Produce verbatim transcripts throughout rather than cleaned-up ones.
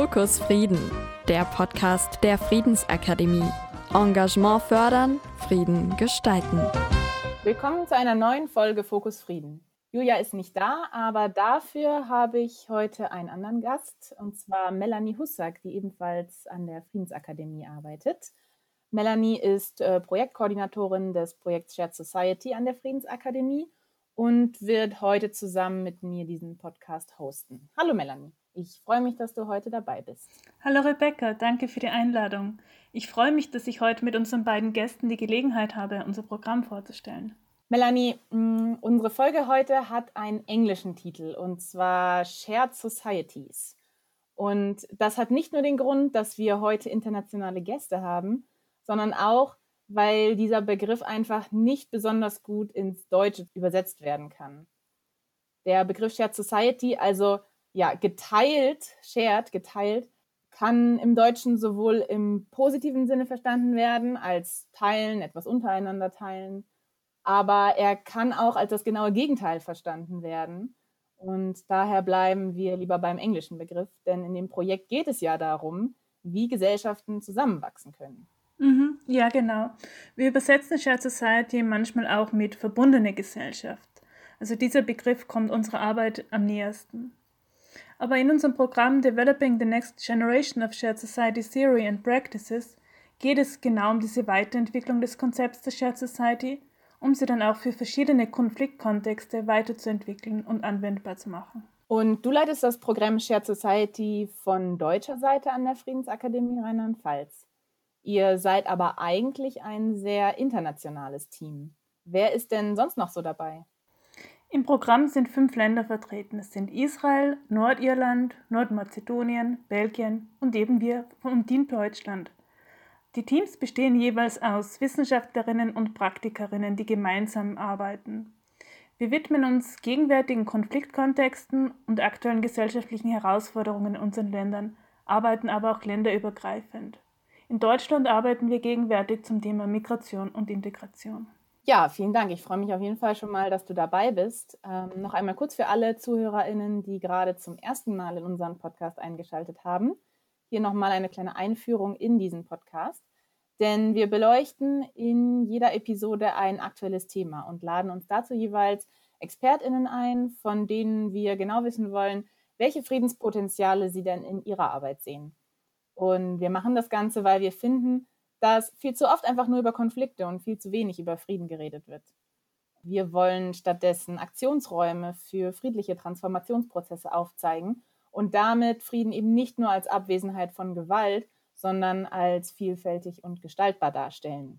Fokus Frieden, der Podcast der Friedensakademie. Engagement fördern, Frieden gestalten. Willkommen zu einer neuen Folge Fokus Frieden. Julia ist nicht da, aber dafür habe ich heute einen anderen Gast, und zwar Melanie Hussack, die ebenfalls an der Friedensakademie arbeitet. Melanie ist äh, Projektkoordinatorin des Projekts Shared Society an der Friedensakademie und wird heute zusammen mit mir diesen Podcast hosten. Hallo Melanie, ich freue mich, dass du heute dabei bist. Hallo Rebecca, danke für die Einladung. Ich freue mich, dass ich heute mit unseren beiden Gästen die Gelegenheit habe, unser Programm vorzustellen. Melanie, mh, unsere Folge heute hat einen englischen Titel, und zwar Shared Societies. Und das hat nicht nur den Grund, dass wir heute internationale Gäste haben, sondern auch, weil dieser Begriff einfach nicht besonders gut ins Deutsche übersetzt werden kann. Der Begriff Shared Society, also ja, geteilt, shared, geteilt, kann im Deutschen sowohl im positiven Sinne verstanden werden, als teilen, etwas untereinander teilen, aber er kann auch als das genaue Gegenteil verstanden werden. Und daher bleiben wir lieber beim englischen Begriff, denn in dem Projekt geht es ja darum, wie Gesellschaften zusammenwachsen können. Mhm, ja, genau. Wir übersetzen Shared Society manchmal auch mit verbundene Gesellschaft. Also dieser Begriff kommt unserer Arbeit am nähersten. Aber in unserem Programm Developing the Next Generation of Shared Society Theory and Practices geht es genau um diese Weiterentwicklung des Konzepts der Shared Society, um sie dann auch für verschiedene Konfliktkontexte weiterzuentwickeln und anwendbar zu machen. Und du leitest das Programm Shared Society von deutscher Seite an der Friedensakademie Rheinland-Pfalz. Ihr seid aber eigentlich ein sehr internationales Team. Wer ist denn sonst noch so dabei? Im Programm sind fünf Länder vertreten. Es sind Israel, Nordirland, Nordmazedonien, Belgien und eben wir vom Team Deutschland. Die Teams bestehen jeweils aus Wissenschaftlerinnen und Praktikerinnen, die gemeinsam arbeiten. Wir widmen uns gegenwärtigen Konfliktkontexten und aktuellen gesellschaftlichen Herausforderungen in unseren Ländern, arbeiten aber auch länderübergreifend. In Deutschland arbeiten wir gegenwärtig zum Thema Migration und Integration. Ja, vielen Dank. Ich freue mich auf jeden Fall schon mal, dass du dabei bist. Ähm, noch einmal kurz für alle ZuhörerInnen, die gerade zum ersten Mal in unseren Podcast eingeschaltet haben. Hier nochmal eine kleine Einführung in diesen Podcast. Denn wir beleuchten in jeder Episode ein aktuelles Thema und laden uns dazu jeweils ExpertInnen ein, von denen wir genau wissen wollen, welche Friedenspotenziale sie denn in ihrer Arbeit sehen. Und wir machen das Ganze, weil wir finden, dass viel zu oft einfach nur über Konflikte und viel zu wenig über Frieden geredet wird. Wir wollen stattdessen Aktionsräume für friedliche Transformationsprozesse aufzeigen und damit Frieden eben nicht nur als Abwesenheit von Gewalt, sondern als vielfältig und gestaltbar darstellen.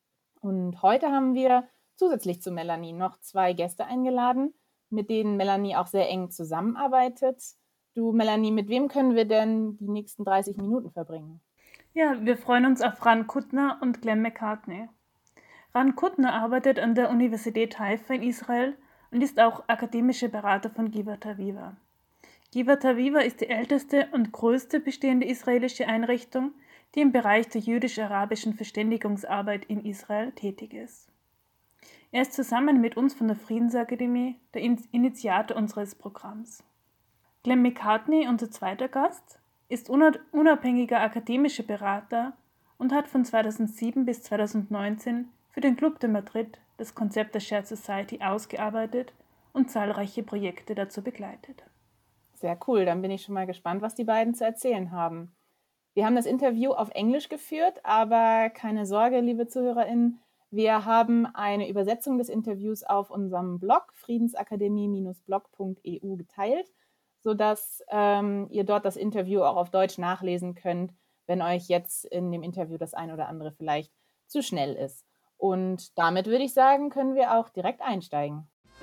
Und heute haben wir zusätzlich zu Melanie noch zwei Gäste eingeladen, mit denen Melanie auch sehr eng zusammenarbeitet. Du, Melanie, mit wem können wir denn die nächsten dreißig Minuten verbringen? Ja, wir freuen uns auf Ran Kuttner und Glenn McCartney. Ran Kuttner arbeitet an der Universität Haifa in Israel und ist auch akademischer Berater von Givat Haviva. Givat Haviva ist die älteste und größte bestehende israelische Einrichtung, die im Bereich der jüdisch-arabischen Verständigungsarbeit in Israel tätig ist. Er ist zusammen mit uns von der Friedensakademie der Initiator unseres Programms. Glenn McCartney, unser zweiter Gast, ist unabhängiger akademischer Berater und hat von zweitausendsieben bis zweitausendneunzehn für den Club de Madrid das Konzept der Shared Society ausgearbeitet und zahlreiche Projekte dazu begleitet. Sehr cool, dann bin ich schon mal gespannt, was die beiden zu erzählen haben. Wir haben das Interview auf Englisch geführt, aber keine Sorge, liebe ZuhörerInnen, wir haben eine Übersetzung des Interviews auf unserem Blog friedensakademie blog punkt e u geteilt, sodass ähm, ihr dort das Interview auch auf Deutsch nachlesen könnt, wenn euch jetzt in dem Interview das ein oder andere vielleicht zu schnell ist. Und damit würde ich sagen, können wir auch direkt einsteigen.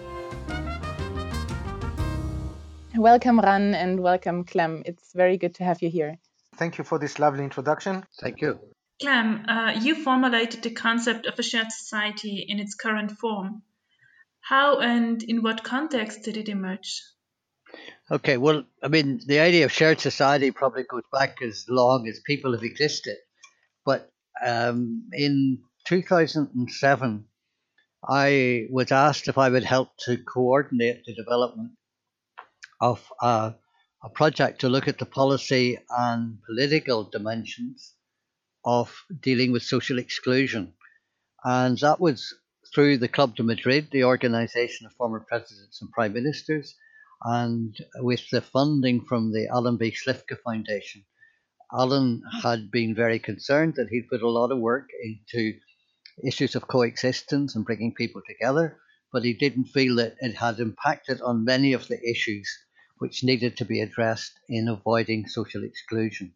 Welcome, Ran, and welcome, Clem. It's very good to have you here. Thank you for this lovely introduction. Thank you. Clem, uh, you formulated the concept of a shared society in its current form. How and in what context did it emerge? Okay, well, I mean, the idea of shared society probably goes back as long as people have existed. But um, in two thousand seven, I was asked if I would help to coordinate the development of a, a project to look at the policy and political dimensions of dealing with social exclusion. And that was through the Club de Madrid, the organization of former presidents and prime ministers, and with the funding from the Alan B. Slifka Foundation. Alan had been very concerned that he'd put a lot of work into issues of coexistence and bringing people together, but he didn't feel that it had impacted on many of the issues which needed to be addressed in avoiding social exclusion.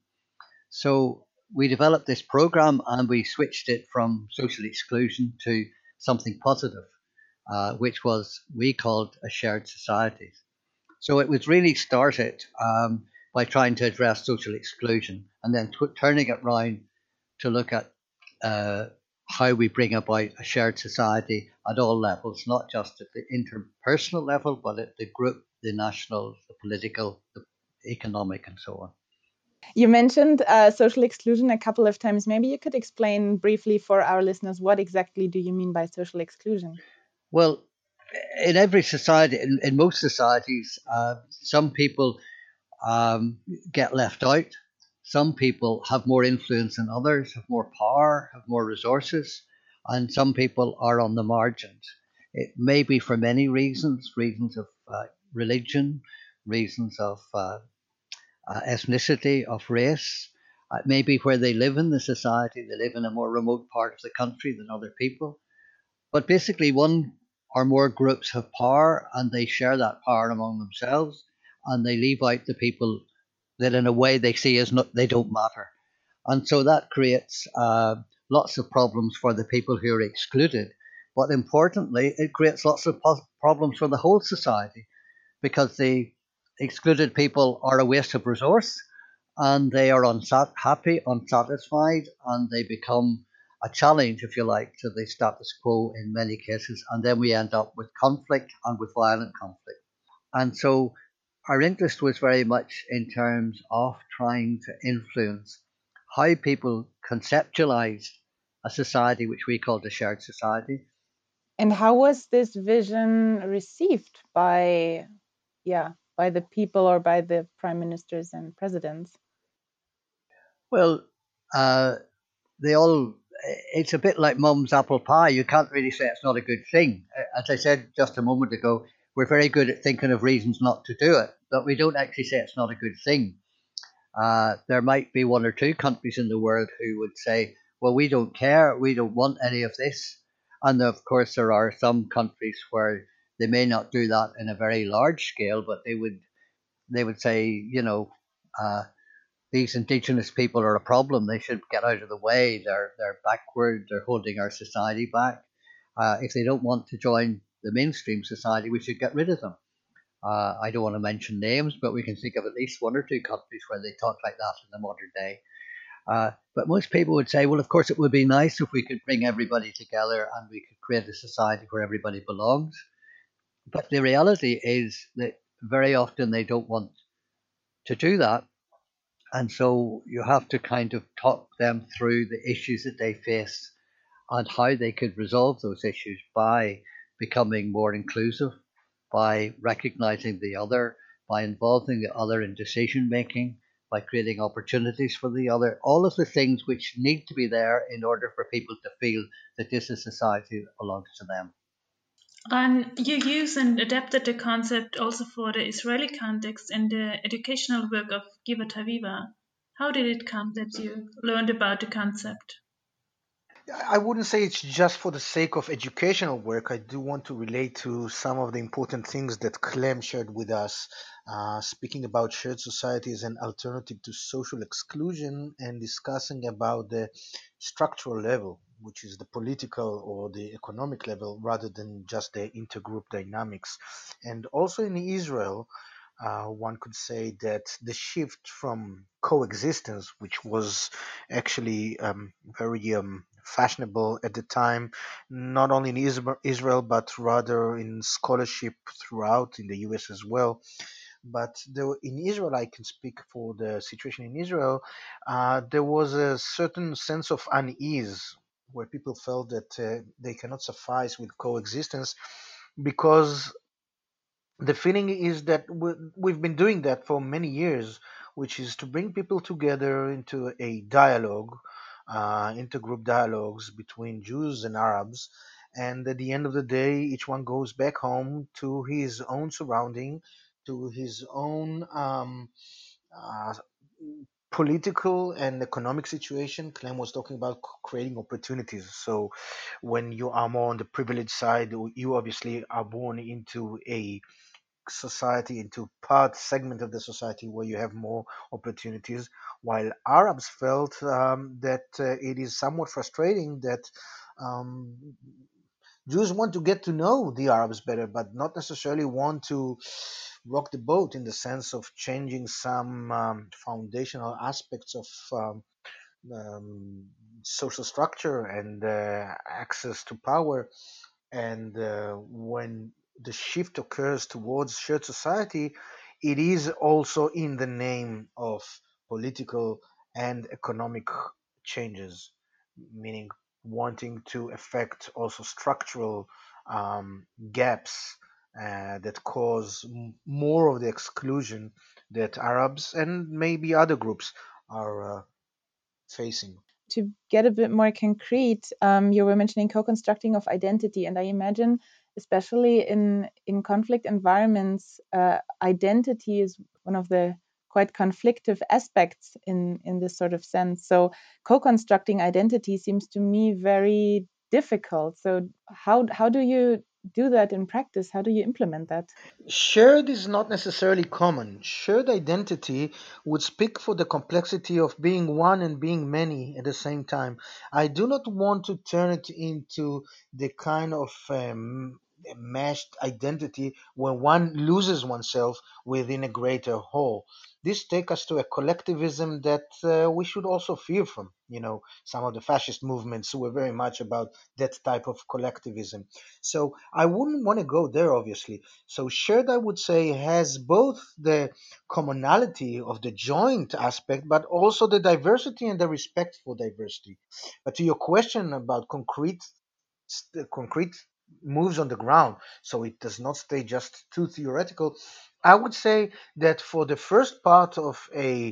So we developed this program and we switched it from social exclusion to something positive, uh, which was we called a shared society. So it was really started um, by trying to address social exclusion and then t- turning it round to look at uh, how we bring about a shared society at all levels, not just at the interpersonal level, but at the group, the national, the political, the economic, and so on. You mentioned uh, social exclusion a couple of times. Maybe you could explain briefly for our listeners what exactly do you mean by social exclusion? Well, in every society, in, in most societies, uh, some people um, get left out. Some people have more influence than others, have more power, have more resources, and some people are on the margins. It may be for many reasons, reasons of uh, religion, reasons of uh, uh, ethnicity, of race. It may be where they live in the society. They live in a more remote part of the country than other people. But basically, one or more groups have power and they share that power among themselves and they leave out the people that, in a way, they see as not, they don't matter. And so that creates uh, lots of problems for the people who are excluded. But importantly, it creates lots of pos- problems for the whole society because the excluded people are a waste of resource and they are unhappy, unsatisfied, and they become a challenge, if you like, to the status quo in many cases. And then we end up with conflict and with violent conflict. And so our interest was very much in terms of trying to influence how people conceptualized a society which we called a shared society. And how was this vision received by, yeah, by the people or by the prime ministers and presidents? Well, uh, they all, it's a bit like mum's apple pie. You can't really say it's not a good thing. As I said just a moment ago, we're very good at thinking of reasons not to do it, but we don't actually say it's not a good thing. Uh, there might be one or two countries in the world who would say, well, we don't care, we don't want any of this. And of course, there are some countries where they may not do that in a very large scale, but they would they would say, you know, uh, these indigenous people are a problem. They should get out of the way. They're they're backward. They're holding our society back. Uh, if they don't want to join the mainstream society, we should get rid of them. Uh, I don't want to mention names, but we can think of at least one or two countries where they talk like that in the modern day. Uh, but most people would say, well, of course, it would be nice if we could bring everybody together and we could create a society where everybody belongs. But the reality is that very often they don't want to do that. And so you have to kind of talk them through the issues that they face and how they could resolve those issues by becoming more inclusive, by recognizing the other, by involving the other in decision making, by creating opportunities for the other, all of the things which need to be there in order for people to feel that this is a society that belongs to them. And you use and adapted the concept also for the Israeli context in the educational work of Givat Haviva. How did it come that you learned about the concept? I wouldn't say it's just for the sake of educational work. I do want to relate to some of the important things that Clem shared with us, uh, speaking about shared society as an alternative to social exclusion and discussing about the structural level, which is the political or the economic level, rather than just the intergroup dynamics. And also in Israel, uh, one could say that the shift from coexistence, which was actually um, very um, fashionable at the time, not only in Isra- Israel, but rather in scholarship throughout in the U S as well. But there, in Israel, I can speak for the situation in Israel, uh, there was a certain sense of unease where people felt that uh, they cannot suffice with coexistence because the feeling is that we- we've been doing that for many years, which is to bring people together into a dialogue, uh, intergroup dialogues between Jews and Arabs. And at the end of the day, each one goes back home to his own surrounding, to his own um, uh, political and economic situation. Clem was talking about c- creating opportunities. So when you are more on the privileged side, you obviously are born into a society, into part segment of the society where you have more opportunities, while Arabs felt um, that uh, it is somewhat frustrating that um, Jews want to get to know the Arabs better, but not necessarily want to rock the boat in the sense of changing some um, foundational aspects of um, um, social structure and uh, access to power. And uh, when the shift occurs towards shared society, it is also in the name of political and economic changes, meaning wanting to affect also structural um, gaps uh, that cause m- more of the exclusion that Arabs and maybe other groups are uh, facing. To get a bit more concrete, um, you were mentioning co-constructing of identity, and I imagine, especially in in conflict environments, uh, identity is one of the quite conflictive aspects in in this sort of sense. So, co-constructing identity seems to me very difficult. So, how how do you do that in practice? How do you implement that? Shared is not necessarily common. Shared identity would speak for the complexity of being one and being many at the same time. I do not want to turn it into the kind of um, meshed identity where one loses oneself within a greater whole. This takes us to a collectivism that uh, we should also fear from. You know, some of the fascist movements were very much about that type of collectivism. So I wouldn't want to go there, obviously. So shared, I would say, has both the commonality of the joint aspect, but also the diversity and the respect for diversity. But to your question about concrete, st- concrete moves on the ground, so it does not stay just too theoretical. I would say that for the first part of a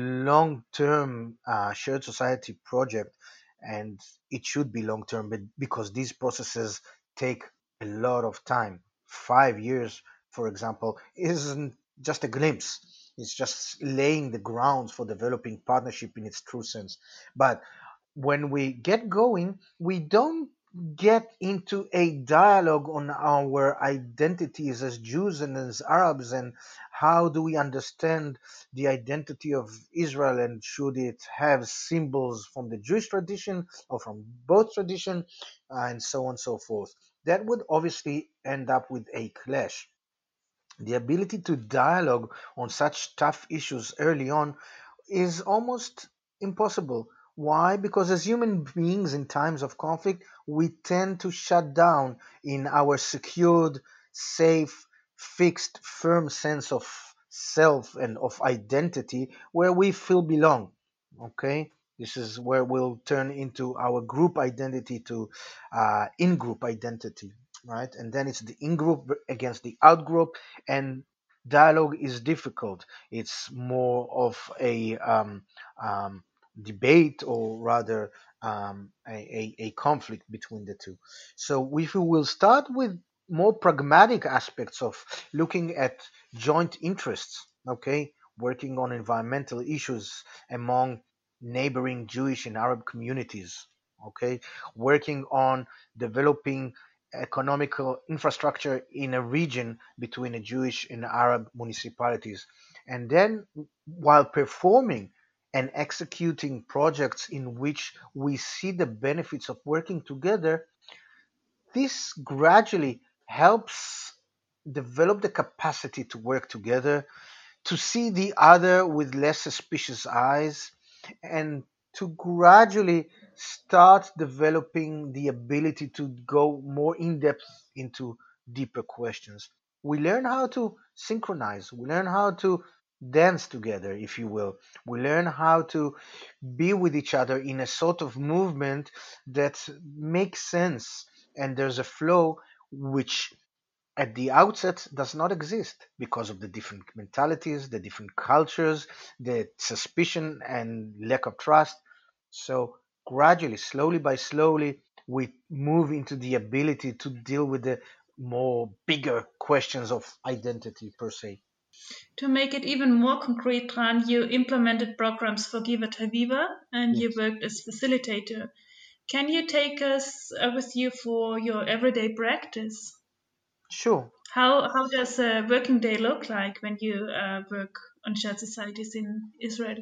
long-term uh, shared society project, and it should be long-term, but because these processes take a lot of time, five years for example, isn't just a glimpse. It's just laying the grounds for developing partnership in its true sense. But when we get going, we don't get into a dialogue on our identities as Jews and as Arabs and how do we understand the identity of Israel and should it have symbols from the Jewish tradition or from both tradition and so on and so forth. That would obviously end up with a clash. The ability to dialogue on such tough issues early on is almost impossible. Why? Because as human beings in times of conflict, we tend to shut down in our secured, safe, fixed, firm sense of self and of identity where we feel belong. Okay? This is where we'll turn into our group identity to uh, in group identity, right? And then it's the in group against the out group, and dialogue is difficult. It's more of a um, um, debate, or rather um, a, a, a conflict between the two. So if we will start with more pragmatic aspects of looking at joint interests, okay, working on environmental issues among neighboring Jewish and Arab communities, okay, working on developing economical infrastructure in a region between the Jewish and Arab municipalities. And then, while performing and executing projects in which we see the benefits of working together, this gradually helps develop the capacity to work together, to see the other with less suspicious eyes, and to gradually start developing the ability to go more in depth into deeper questions. We learn how to synchronize, we learn how to dance together, if you will. We learn how to be with each other in a sort of movement that makes sense, and there's a flow which at the outset does not exist because of the different mentalities, the different cultures, the suspicion and lack of trust. So gradually, slowly by slowly, we move into the ability to deal with the more bigger questions of identity per se. To make it even more concrete, Ran, you implemented programs for Givat Haviva and you Yes, worked as facilitator. Can you take us uh, with you for your everyday practice? sure. How how does a working day look like when you uh, work on shared societies in Israel?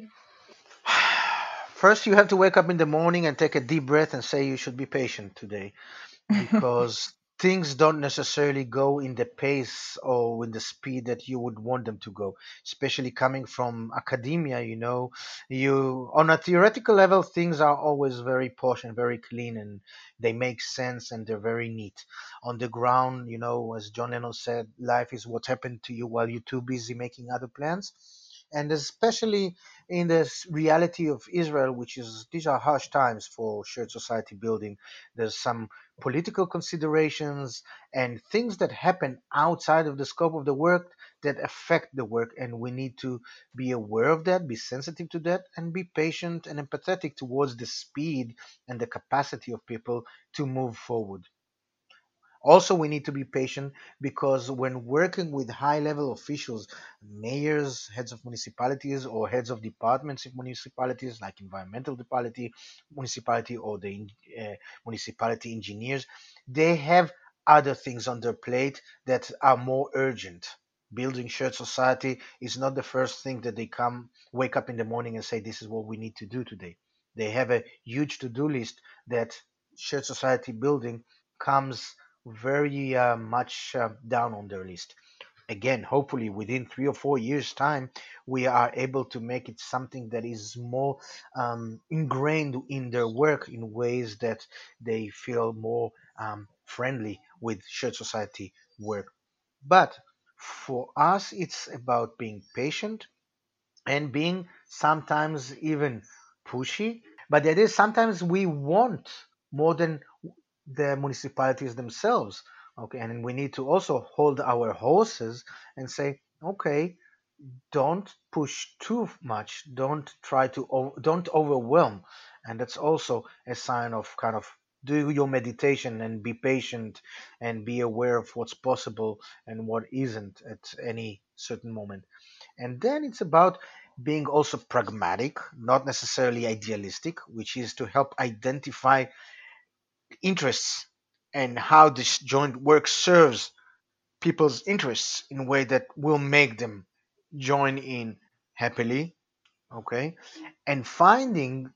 First, you have to wake up in the morning and take a deep breath and say you should be patient today, because things don't necessarily go in the pace or in the speed that you would want them to go, especially coming from academia. You know, you on a theoretical level, things are always very posh and very clean, and they make sense and they're very neat. On the ground, you know, as John Lennon said, life is what happened to you while you're too busy making other plans. And especially in this reality of Israel, which is these are harsh times for shared society building. There's some political considerations and things that happen outside of the scope of the work that affect the work, and we need to be aware of that, be sensitive to that, and be patient and empathetic towards the speed and the capacity of people to move forward. Also, we need to be patient because when working with high level officials, mayors, heads of municipalities, or heads of departments of municipalities, like environmental municipality, municipality, or the uh, municipality engineers, they have other things on their plate that are more urgent. Building shared society is not the first thing that they come, wake up in the morning and say, this is what we need to do today. They have a huge to do list that shared society building comes very uh, much uh, down on their list. Again, hopefully within three or four years' time, we are able to make it something that is more um, ingrained in their work in ways that they feel more um, friendly with shared society work. But for us, it's about being patient and being sometimes even pushy. But it is sometimes we want more than the municipalities themselves. Okay, and we need to also hold our horses and say, okay, don't push too much, don't try to o- don't overwhelm, and that's also a sign of kind of do your meditation and be patient and be aware of what's possible and what isn't at any certain moment. And then it's about being also pragmatic, not necessarily idealistic, which is to help identify interests and how this joint work serves people's interests in a way that will make them join in happily. Okay, and finding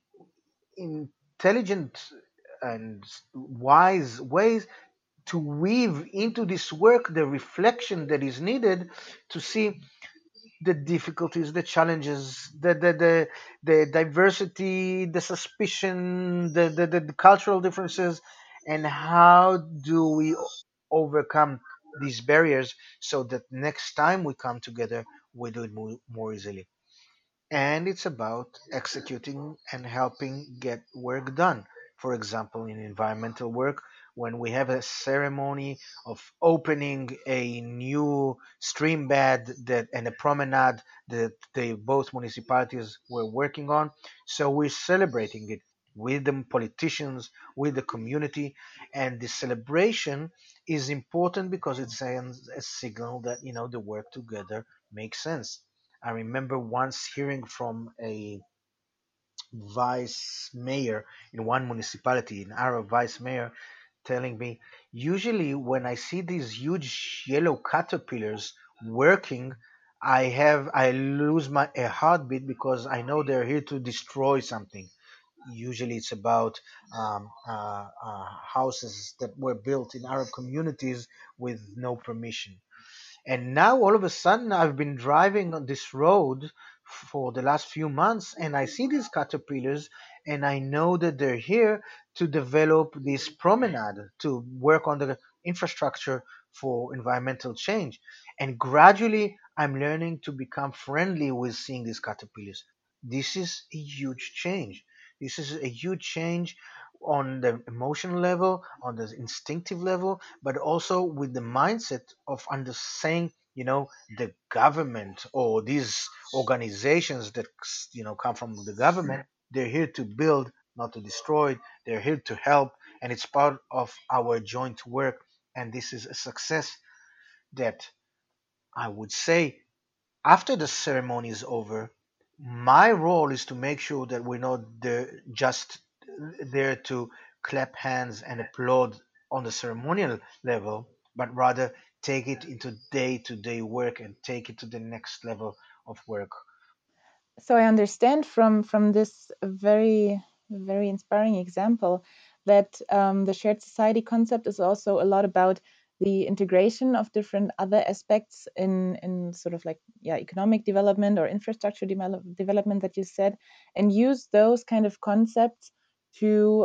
intelligent and wise ways to weave into this work the reflection that is needed to see the difficulties, the challenges, the the the, the diversity, the suspicion, the, the the cultural differences, and how do we overcome these barriers so that next time we come together, we do it more, more easily. And it's about executing and helping get work done. For example, in environmental work, when we have a ceremony of opening a new stream bed that and a promenade that the both municipalities were working on, so we're celebrating it with the politicians, with the community, and the celebration is important because it sends a signal that you know the work together makes sense. I remember once hearing from a vice mayor in one municipality, an Arab vice mayor, telling me, usually when I see these huge yellow caterpillars working, I have I lose my a heartbeat because I know they're here to destroy something. Usually, it's about um, uh, uh, houses that were built in Arab communities with no permission. And now all of a sudden, I've been driving on this road for the last few months and I see these caterpillars and I know that they're here to develop this promenade, to work on the infrastructure for environmental change. And gradually, I'm learning to become friendly with seeing these caterpillars. This is a huge change. This is a huge change on the emotional level, on the instinctive level, but also with the mindset of understanding, you know, the government or these organizations that, you know, come from the government. They're here to build, not to destroy. They're here to help, and it's part of our joint work. And this is a success that I would say after the ceremony is over, my role is to make sure that we're not there, just there to clap hands and applaud on the ceremonial level, but rather take it into day to day work and take it to the next level of work. So I understand from from this very very inspiring example that um, the shared society concept is also a lot about the integration of different other aspects in in sort of like yeah economic development or infrastructure develop, development that you said, and use those kind of concepts to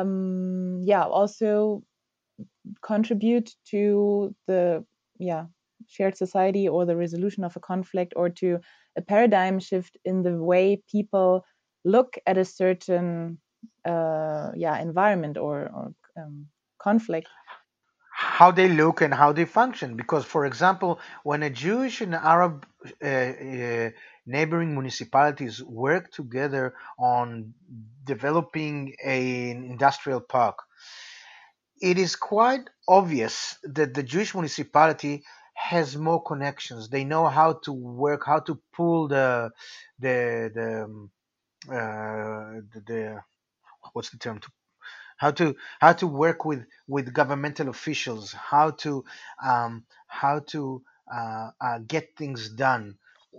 um, yeah also contribute to the yeah shared society or the resolution of a conflict, or to a paradigm shift in the way people look at a certain uh, yeah environment or, or um, conflict. How they look and how they function. Because, for example, when a Jewish and Arab uh, uh, neighboring municipalities work together on developing an industrial park, it is quite obvious that the Jewish municipality has more connections. They know how to work, how to pull the the the um, uh, the, the what's the term, to how to how to work with with governmental officials, how to um, how to uh, uh, get things done,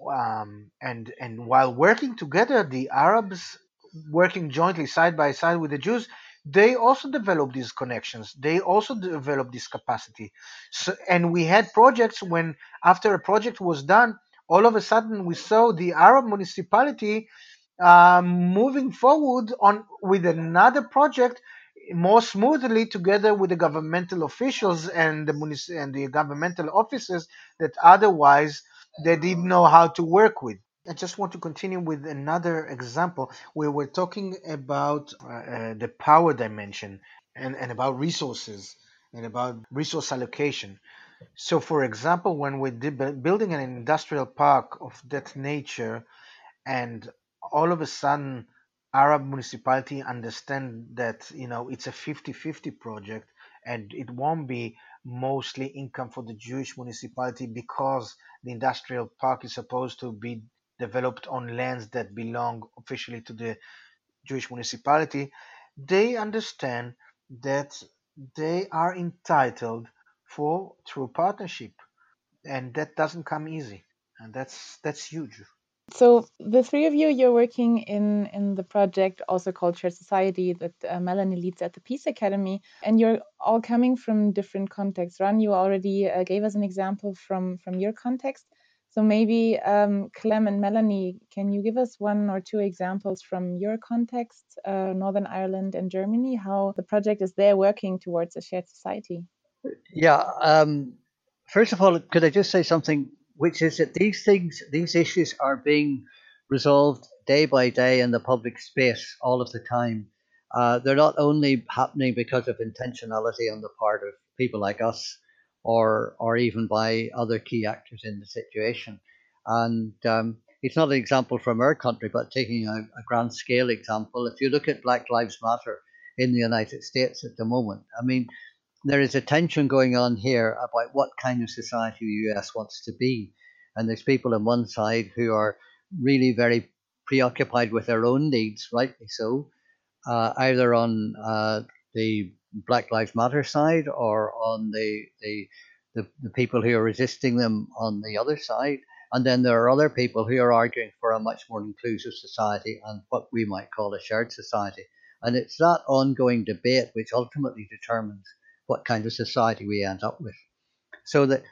um, and and while working together, the Arabs working jointly side by side with the Jews, they also develop these connections. They also develop this capacity. So, and we had projects when after a project was done, all of a sudden we saw the Arab municipality um, moving forward on with another project more smoothly together with the governmental officials and the munici- and the governmental offices that otherwise they didn't know how to work with. I just want to continue with another example where we're talking about uh, uh, the power dimension and, and about resources and about resource allocation. So, for example, when we're de- building an industrial park of that nature, and all of a sudden Arab municipality understand that, you know, it's a fifty-fifty project and it won't be mostly income for the Jewish municipality because the industrial park is supposed to be developed on lands that belong officially to the Jewish municipality. They understand that they are entitled for true partnership, and that doesn't come easy, and that's that's huge. So the three of you, you're working in in the project also called Shared Society that uh, Melanie leads at the Peace Academy, and you're all coming from different contexts. Ran, you already uh, gave us an example from from your context. So maybe um, Clem and Melanie, can you give us one or two examples from your context, uh, Northern Ireland and Germany, how the project is there working towards a shared society? Yeah. Um, first of all, could I just say something, which is that these things, these issues are being resolved day by day in the public space all of the time. Uh, they're not only happening because of intentionality on the part of people like us, or or even by other key actors in the situation. And um, it's not an example from our country, but taking a, a grand scale example, if you look at Black Lives Matter in the United States at the moment, I mean, there is a tension going on here about what kind of society the U S wants to be. And there's people on one side who are really very preoccupied with their own needs, rightly so, uh, either on uh, the Black Lives Matter side or on the, the, the, the people who are resisting them on the other side. And then there are other people who are arguing for a much more inclusive society and what we might call a shared society. And it's that ongoing debate which ultimately determines what kind of society we end up with. So that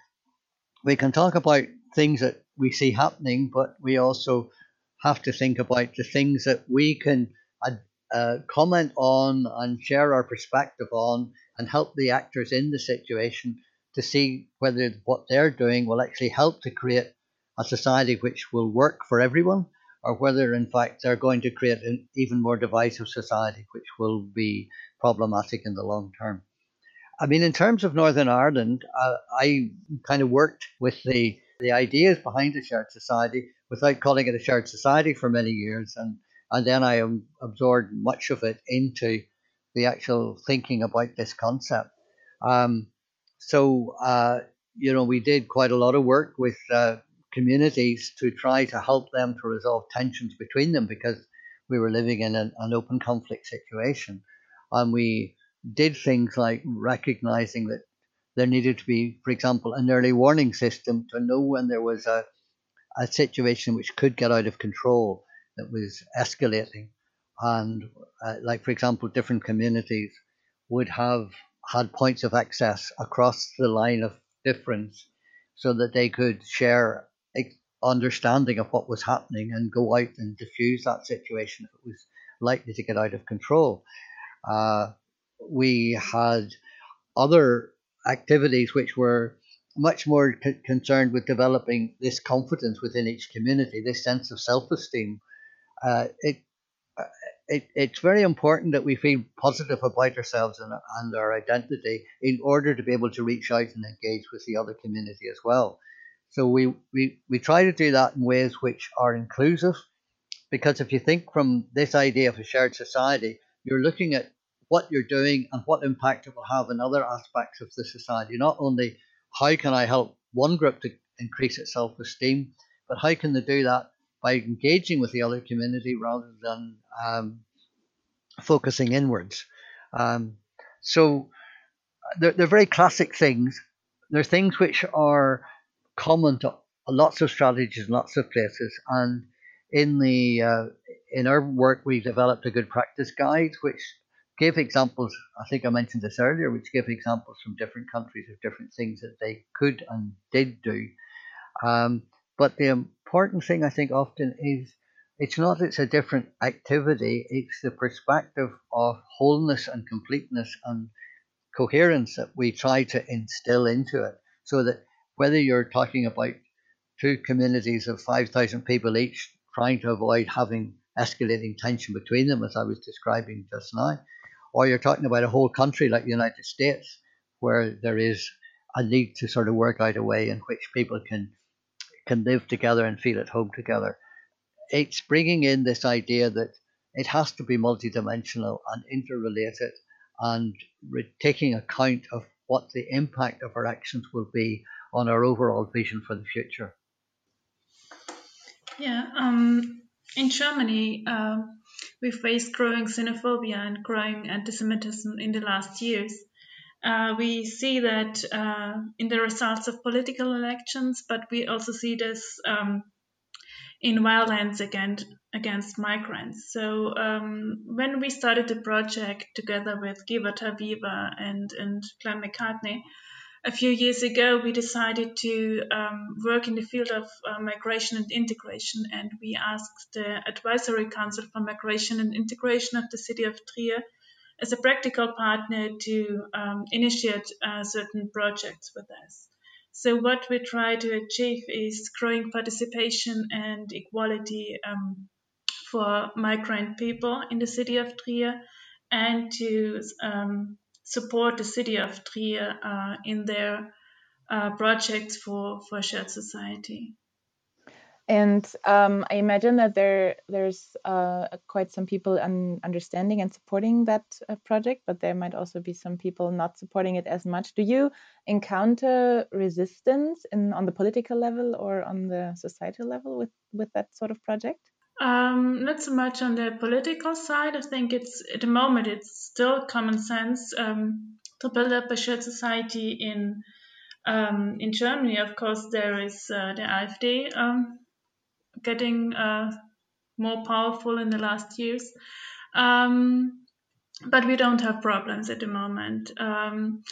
we can talk about things that we see happening, but we also have to think about the things that we can uh, uh, comment on and share our perspective on and help the actors in the situation to see whether what they're doing will actually help to create a society which will work for everyone, or whether in fact they're going to create an even more divisive society, which will be problematic in the long term. I mean, in terms of Northern Ireland, uh, I kind of worked with the, the ideas behind the shared society without calling it a shared society for many years. And, and then I um, absorbed much of it into the actual thinking about this concept. Um, so, uh, you know, we did quite a lot of work with uh, communities to try to help them to resolve tensions between them because we were living in an, an open conflict situation. And we did things like recognizing that there needed to be, for example, an early warning system to know when there was a, a situation which could get out of control, that was escalating. And uh, like, for example, different communities would have had points of access across the line of difference so that they could share understanding of what was happening and go out and diffuse that situation if it was likely to get out of control. Uh, we had other activities which were much more c- concerned with developing this confidence within each community, this sense of self-esteem. Uh, it, uh, it, it's very important that we feel positive about ourselves and, and our identity in order to be able to reach out and engage with the other community as well. So we, we, we try to do that in ways which are inclusive, because if you think from this idea of a shared society, you're looking at what you're doing and what impact it will have in other aspects of the society. Not only how can I help one group to increase its self-esteem, but how can they do that by engaging with the other community rather than um, focusing inwards. Um, so they're, they're very classic things. They're things which are common to lots of strategies in lots of places. And in the uh, in our work, we developed a good practice guide, which gave examples. I think I mentioned this earlier, which gave examples from different countries of different things that they could and did do. Um, but the important thing, I think, often is it's not it's a different activity. It's the perspective of wholeness and completeness and coherence that we try to instill into it, so that whether you're talking about two communities of five thousand people each trying to avoid having escalating tension between them, as I was describing just now, or you're talking about a whole country like the United States, where there is a need to sort of work out a way in which people can can live together and feel at home together. It's bringing in this idea that it has to be multidimensional and interrelated and re- taking account of what the impact of our actions will be on our overall vision for the future. Yeah, um, in Germany, uh, we faced growing xenophobia and growing anti-Semitism in the last years. Uh, we see that uh, in the results of political elections, but we also see this um, in violence against, against migrants. So um, when we started the project together with Givata Viva and, and Glenn McCartney, a few years ago, we decided to um, work in the field of uh, migration and integration, and we asked the Advisory Council for Migration and Integration of the city of Trier as a practical partner to um, initiate uh, certain projects with us. So what we try to achieve is growing participation and equality um, for migrant people in the city of Trier, and to um, support the city of Trier uh, in their uh, projects for, for shared society. And um, I imagine that there there's uh, quite some people un- understanding and supporting that uh, project, but there might also be some people not supporting it as much. Do you encounter resistance in on the political level or on the societal level with, with that sort of project? Um, not so much on the political side. I think it's at the moment it's still common sense um, to build up a shared society in um, in Germany. Of course, there is uh, the AfD um, getting uh, more powerful in the last years, um, but we don't have problems at the moment. Um,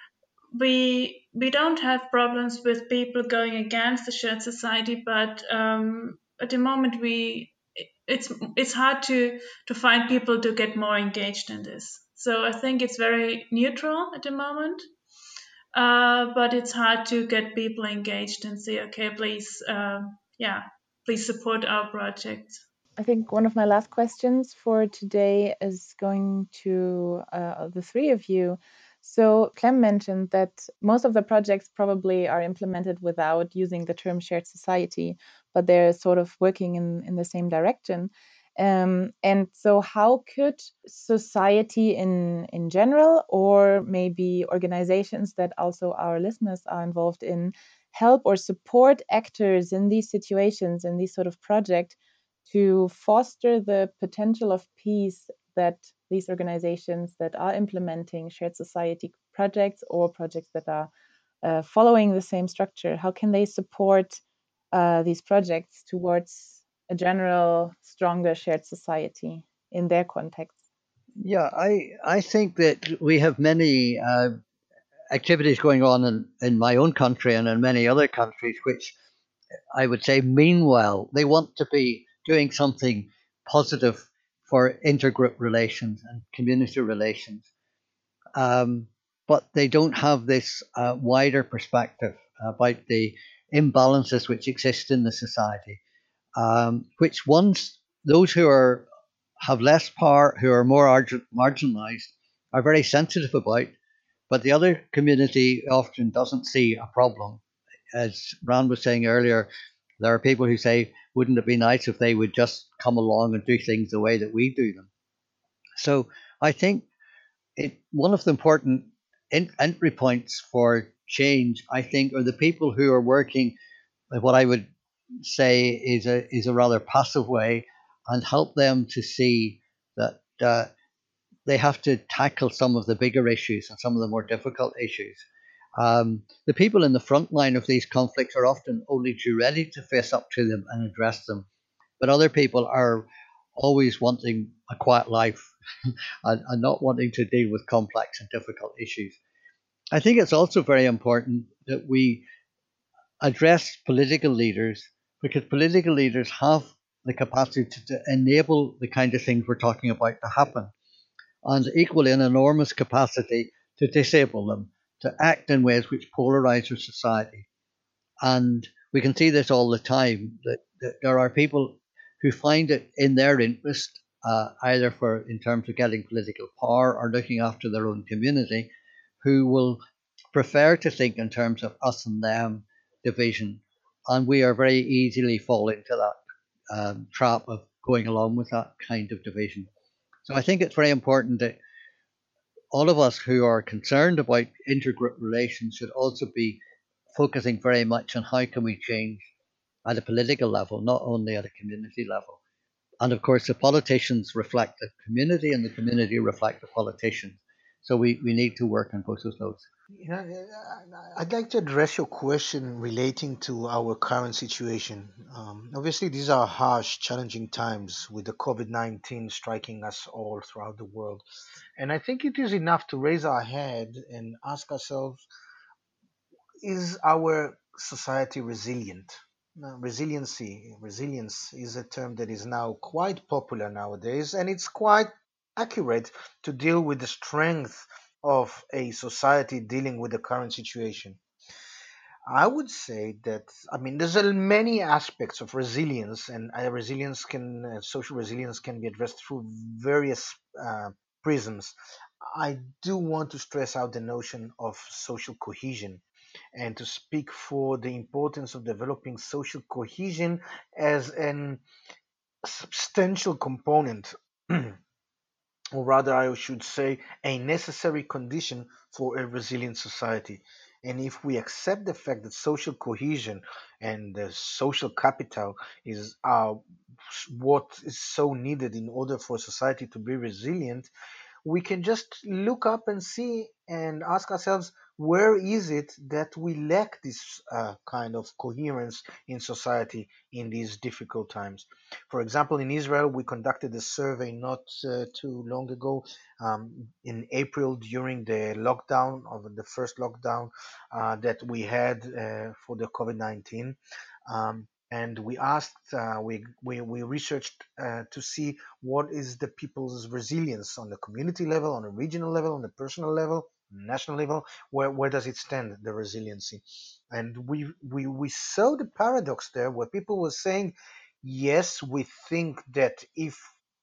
we we don't have problems with people going against the shared society, but um, at the moment we it's it's hard to to find people to get more engaged in this. So I think it's very neutral at the moment, uh, but it's hard to get people engaged and say, okay, please, uh, yeah, please support our project. I think one of my last questions for today is going to uh, the three of you. So Clem mentioned that most of the projects probably are implemented without using the term shared society, but they're sort of working in, in the same direction. Um, and so how could society in, in general, or maybe organizations that also our listeners are involved in, help or support actors in these situations, in these sort of projects, to foster the potential of peace that these organizations that are implementing shared society projects or projects that are uh, following the same structure, how can they support uh, these projects towards a general stronger shared society in their context? Yeah, I I think that we have many uh, activities going on in, in my own country and in many other countries, which I would say mean well. They want to be doing something positive for intergroup relations and community relations, um, but they don't have this uh, wider perspective about the imbalances which exist in the society, um, which ones those who are have less power, who are more arg- marginalized, are very sensitive about, but the other community often doesn't see a problem. As Rand was saying earlier, there are people who say, wouldn't it be nice if they would just come along and do things the way that we do them? So I think it, one of the important entry points for change, I think, are the people who are working what I would say is a is a rather passive way, and help them to see that uh, they have to tackle some of the bigger issues and some of the more difficult issues. Um, the people in the front line of these conflicts are often only too ready to face up to them and address them, but other people are always wanting a quiet life and, and not wanting to deal with complex and difficult issues. I think it's also very important that we address political leaders, because political leaders have the capacity to, to enable the kind of things we're talking about to happen, and equally an enormous capacity to disable them, to act in ways which polarize our society. And we can see this all the time, that, that there are people who find it in their interest, uh, either for in terms of getting political power or looking after their own community, who will prefer to think in terms of us and them division. And we are very easily fall into that um, trap of going along with that kind of division. So I think it's very important that all of us who are concerned about intergroup relations should also be focusing very much on how can we change at a political level, not only at a community level. And of course, the politicians reflect the community, and the community reflect the politicians. So we, we need to work on both of those. You know, I'd like to address your question relating to our current situation. Um, obviously, these are harsh, challenging times with the COVID nineteen striking us all throughout the world. And I think it is enough to raise our head and ask ourselves, is our society resilient? Now, resiliency, resilience is a term that is now quite popular nowadays, and it's quite accurate to deal with the strength of a society dealing with the current situation. I would say that, I mean, there's a many aspects of resilience, and uh, resilience can, uh, social resilience can be addressed through various uh, prisms. I do want to stress out the notion of social cohesion and to speak for the importance of developing social cohesion as an substantial component, or rather, I should say, a necessary condition for a resilient society. And if we accept the fact that social cohesion and the social capital is uh, what is so needed in order for society to be resilient, we can just look up and see and ask ourselves, where is it that we lack this uh, kind of coherence in society in these difficult times? For example, in Israel, we conducted a survey not uh, too long ago, um, in April, during the lockdown, of the first lockdown uh, that we had uh, for the COVID nineteen. Um, and we asked, uh, we, we, we researched uh, to see what is the people's resilience on the community level, on a regional level, on a personal level. national level, where, where does it stand, the resiliency? And we, we, we saw the paradox there where people were saying, yes, we think that if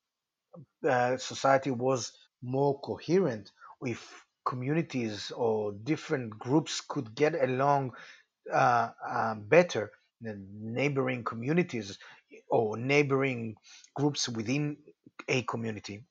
uh, society was more coherent, if communities or different groups could get along uh, uh, better, the neighboring communities or neighboring groups within a community,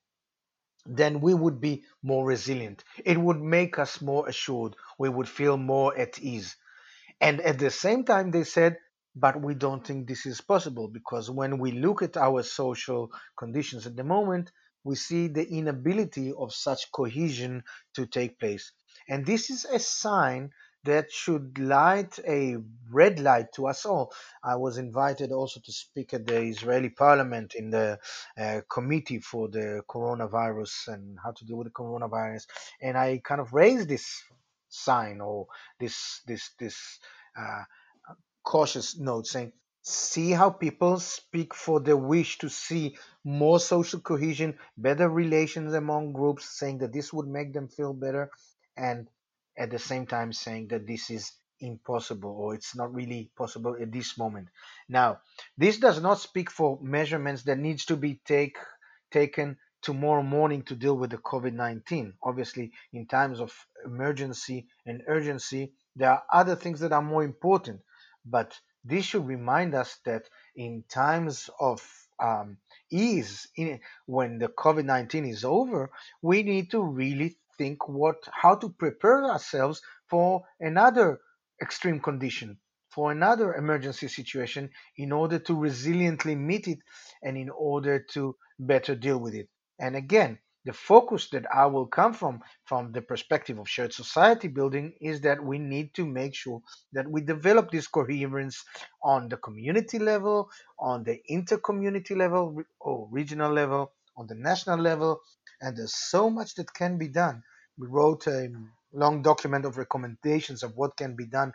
then we would be more resilient. It would make us more assured. We would feel more at ease. And at the same time, they said, but we don't think this is possible because when we look at our social conditions at the moment, we see the inability of such cohesion to take place. And this is a sign that should light a red light to us all. I was invited also to speak at the Israeli parliament in the uh, committee for the coronavirus and how to deal with the coronavirus. And I kind of raised this sign or this this this uh, cautious note saying, see how people speak for the wish to see more social cohesion, better relations among groups, saying that this would make them feel better, and at the same time saying that this is impossible or it's not really possible at this moment. Now, this does not speak for measurements that needs to be take taken tomorrow morning to deal with the COVID nineteen. Obviously, in times of emergency and urgency, there are other things that are more important, but this should remind us that in times of um, ease, in, when the COVID nineteen is over, we need to really think what how to prepare ourselves for another extreme condition, for another emergency situation, in order to resiliently meet it and in order to better deal with it. And again, the focus that I will come from, from the perspective of shared society building, is that we need to make sure that we develop this coherence on the community level, on the inter-community level or regional level, on the national level, and there's so much that can be done. We wrote a long document of recommendations of what can be done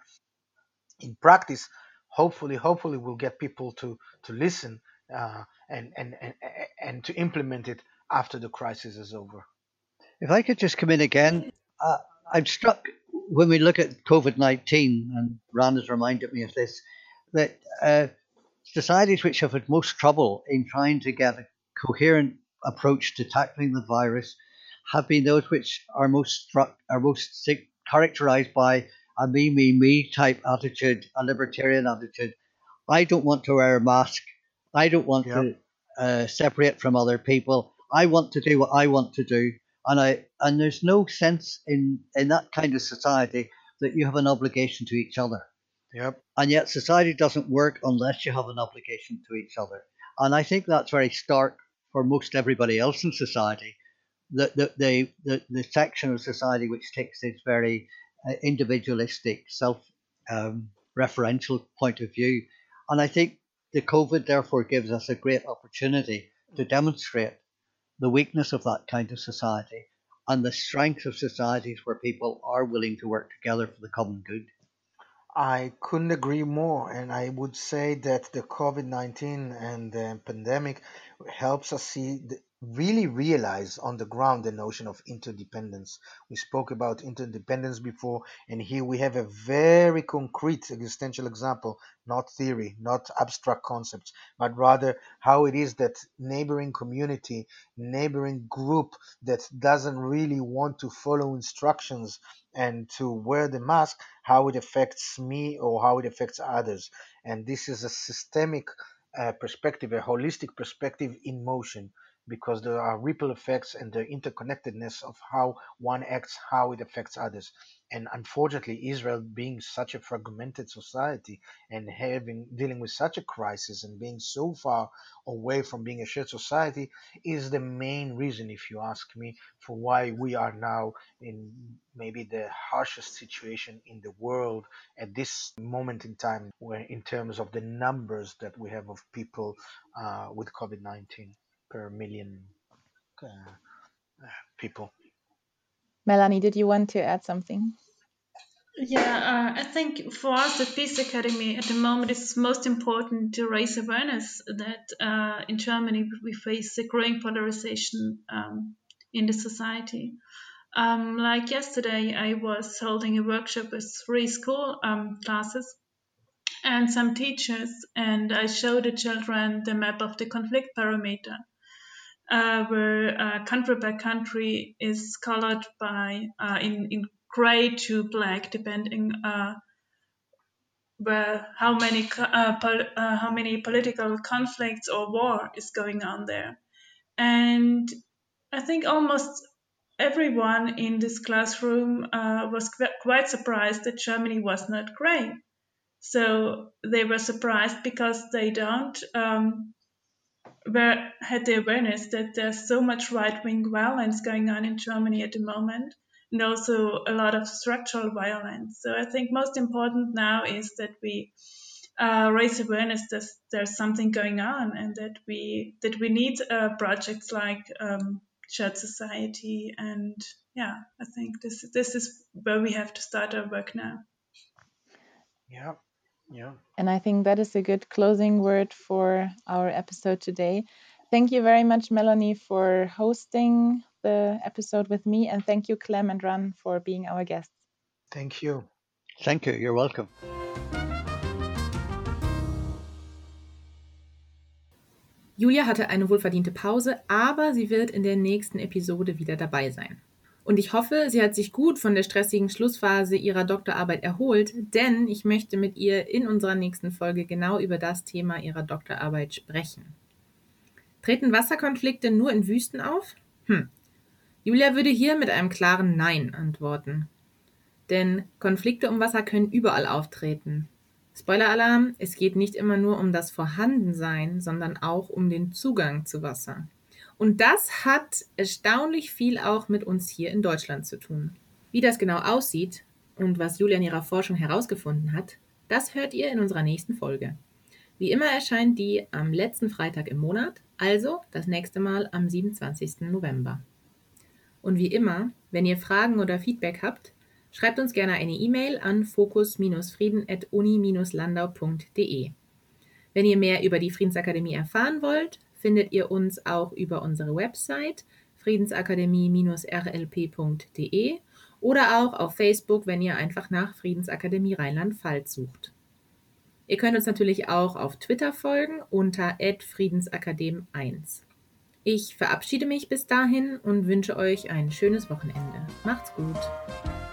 in practice. Hopefully, hopefully we'll get people to to listen uh, and, and and and to implement it after the crisis is over. If I could just come in again, uh, I'm struck when we look at COVID nineteen, and Ran has reminded me of this, that uh, societies which have had most trouble in trying to get a coherent approach to tackling the virus have been those which are most struck, are most characterized by a me, me, me type attitude, a libertarian attitude. I don't want to wear a mask. I don't want Yep. to uh, separate from other people. I want to do what I want to do, and I and there's no sense in in that kind of society that you have an obligation to each other. Yep. And yet society doesn't work unless you have an obligation to each other. And I think that's very stark for most everybody else in society. The the the the, the section of society which takes this very uh, individualistic, self um, referential point of view. And I think the COVID therefore gives us a great opportunity to demonstrate the weakness of that kind of society and the strength of societies where people are willing to work together for the common good. I couldn't agree more, and I would say that the COVID nineteen and the pandemic helps us see, the, really realize on the ground the notion of interdependence. We spoke about interdependence before, and here we have a very concrete existential example, not theory, not abstract concepts, but rather how it is that neighboring community, neighboring group that doesn't really want to follow instructions and to wear the mask, how it affects me or how it affects others. And this is a systemic uh, perspective, a holistic perspective in motion, because there are ripple effects and the interconnectedness of how one acts, how it affects others. And unfortunately, Israel being such a fragmented society and having dealing with such a crisis and being so far away from being a shared society is the main reason, if you ask me, for why we are now in maybe the harshest situation in the world at this moment in time, where in terms of the numbers that we have of people uh, with COVID nineteen per million uh, people. Melanie, did you want to add something? Yeah, uh, I think for us at Peace Academy at the moment it's most important to raise awareness that uh, in Germany we face a growing polarization um, in the society. Um, like yesterday, I was holding a workshop with three school um, classes and some teachers, and I showed the children the map of the conflict parameter, uh, where uh, country by country is colored by uh, in, in gray to black, depending uh, where how many uh, pol- uh, how many political conflicts or war is going on there. And I think almost everyone in this classroom uh, was qu- quite surprised that Germany was not gray. So they were surprised because they don't um, were, had the awareness that there's so much right-wing violence going on in Germany at the moment, and also a lot of structural violence. So I think most important now is that we uh, raise awareness that there's something going on, and that we that we need uh, projects like um, Shared Society. And yeah, I think this this is where we have to start our work now. Yeah, yeah. And I think that is a good closing word for our episode today. Thank you very much, Melanie, for hosting the episode with me. And thank you, Clem and Ran, for being our guests. Thank you. Thank you. You're welcome. Julia hatte eine wohlverdiente Pause, aber sie wird in der nächsten Episode wieder dabei sein. Und ich hoffe, sie hat sich gut von der stressigen Schlussphase ihrer Doktorarbeit erholt, denn ich möchte mit ihr in unserer nächsten Folge genau über das Thema ihrer Doktorarbeit sprechen. Treten Wasserkonflikte nur in Wüsten auf? Hm. Julia würde hier mit einem klaren Nein antworten. Denn Konflikte um Wasser können überall auftreten. Spoiler-Alarm, es geht nicht immer nur um das Vorhandensein, sondern auch um den Zugang zu Wasser. Und das hat erstaunlich viel auch mit uns hier in Deutschland zu tun. Wie das genau aussieht und was Julia in ihrer Forschung herausgefunden hat, das hört ihr in unserer nächsten Folge. Wie immer erscheint die am letzten Freitag im Monat, also das nächste Mal am siebenundzwanzigsten November. Und wie immer, wenn ihr Fragen oder Feedback habt, schreibt uns gerne eine E-Mail an fokus frieden at uni landau punkt de. Wenn ihr mehr über die Friedensakademie erfahren wollt, findet ihr uns auch über unsere Website friedensakademie r l p punkt de oder auch auf Facebook, wenn ihr einfach nach Friedensakademie Rheinland-Pfalz sucht. Ihr könnt uns natürlich auch auf Twitter folgen unter at friedensakadem eins. Ich verabschiede mich bis dahin und wünsche euch ein schönes Wochenende. Macht's gut!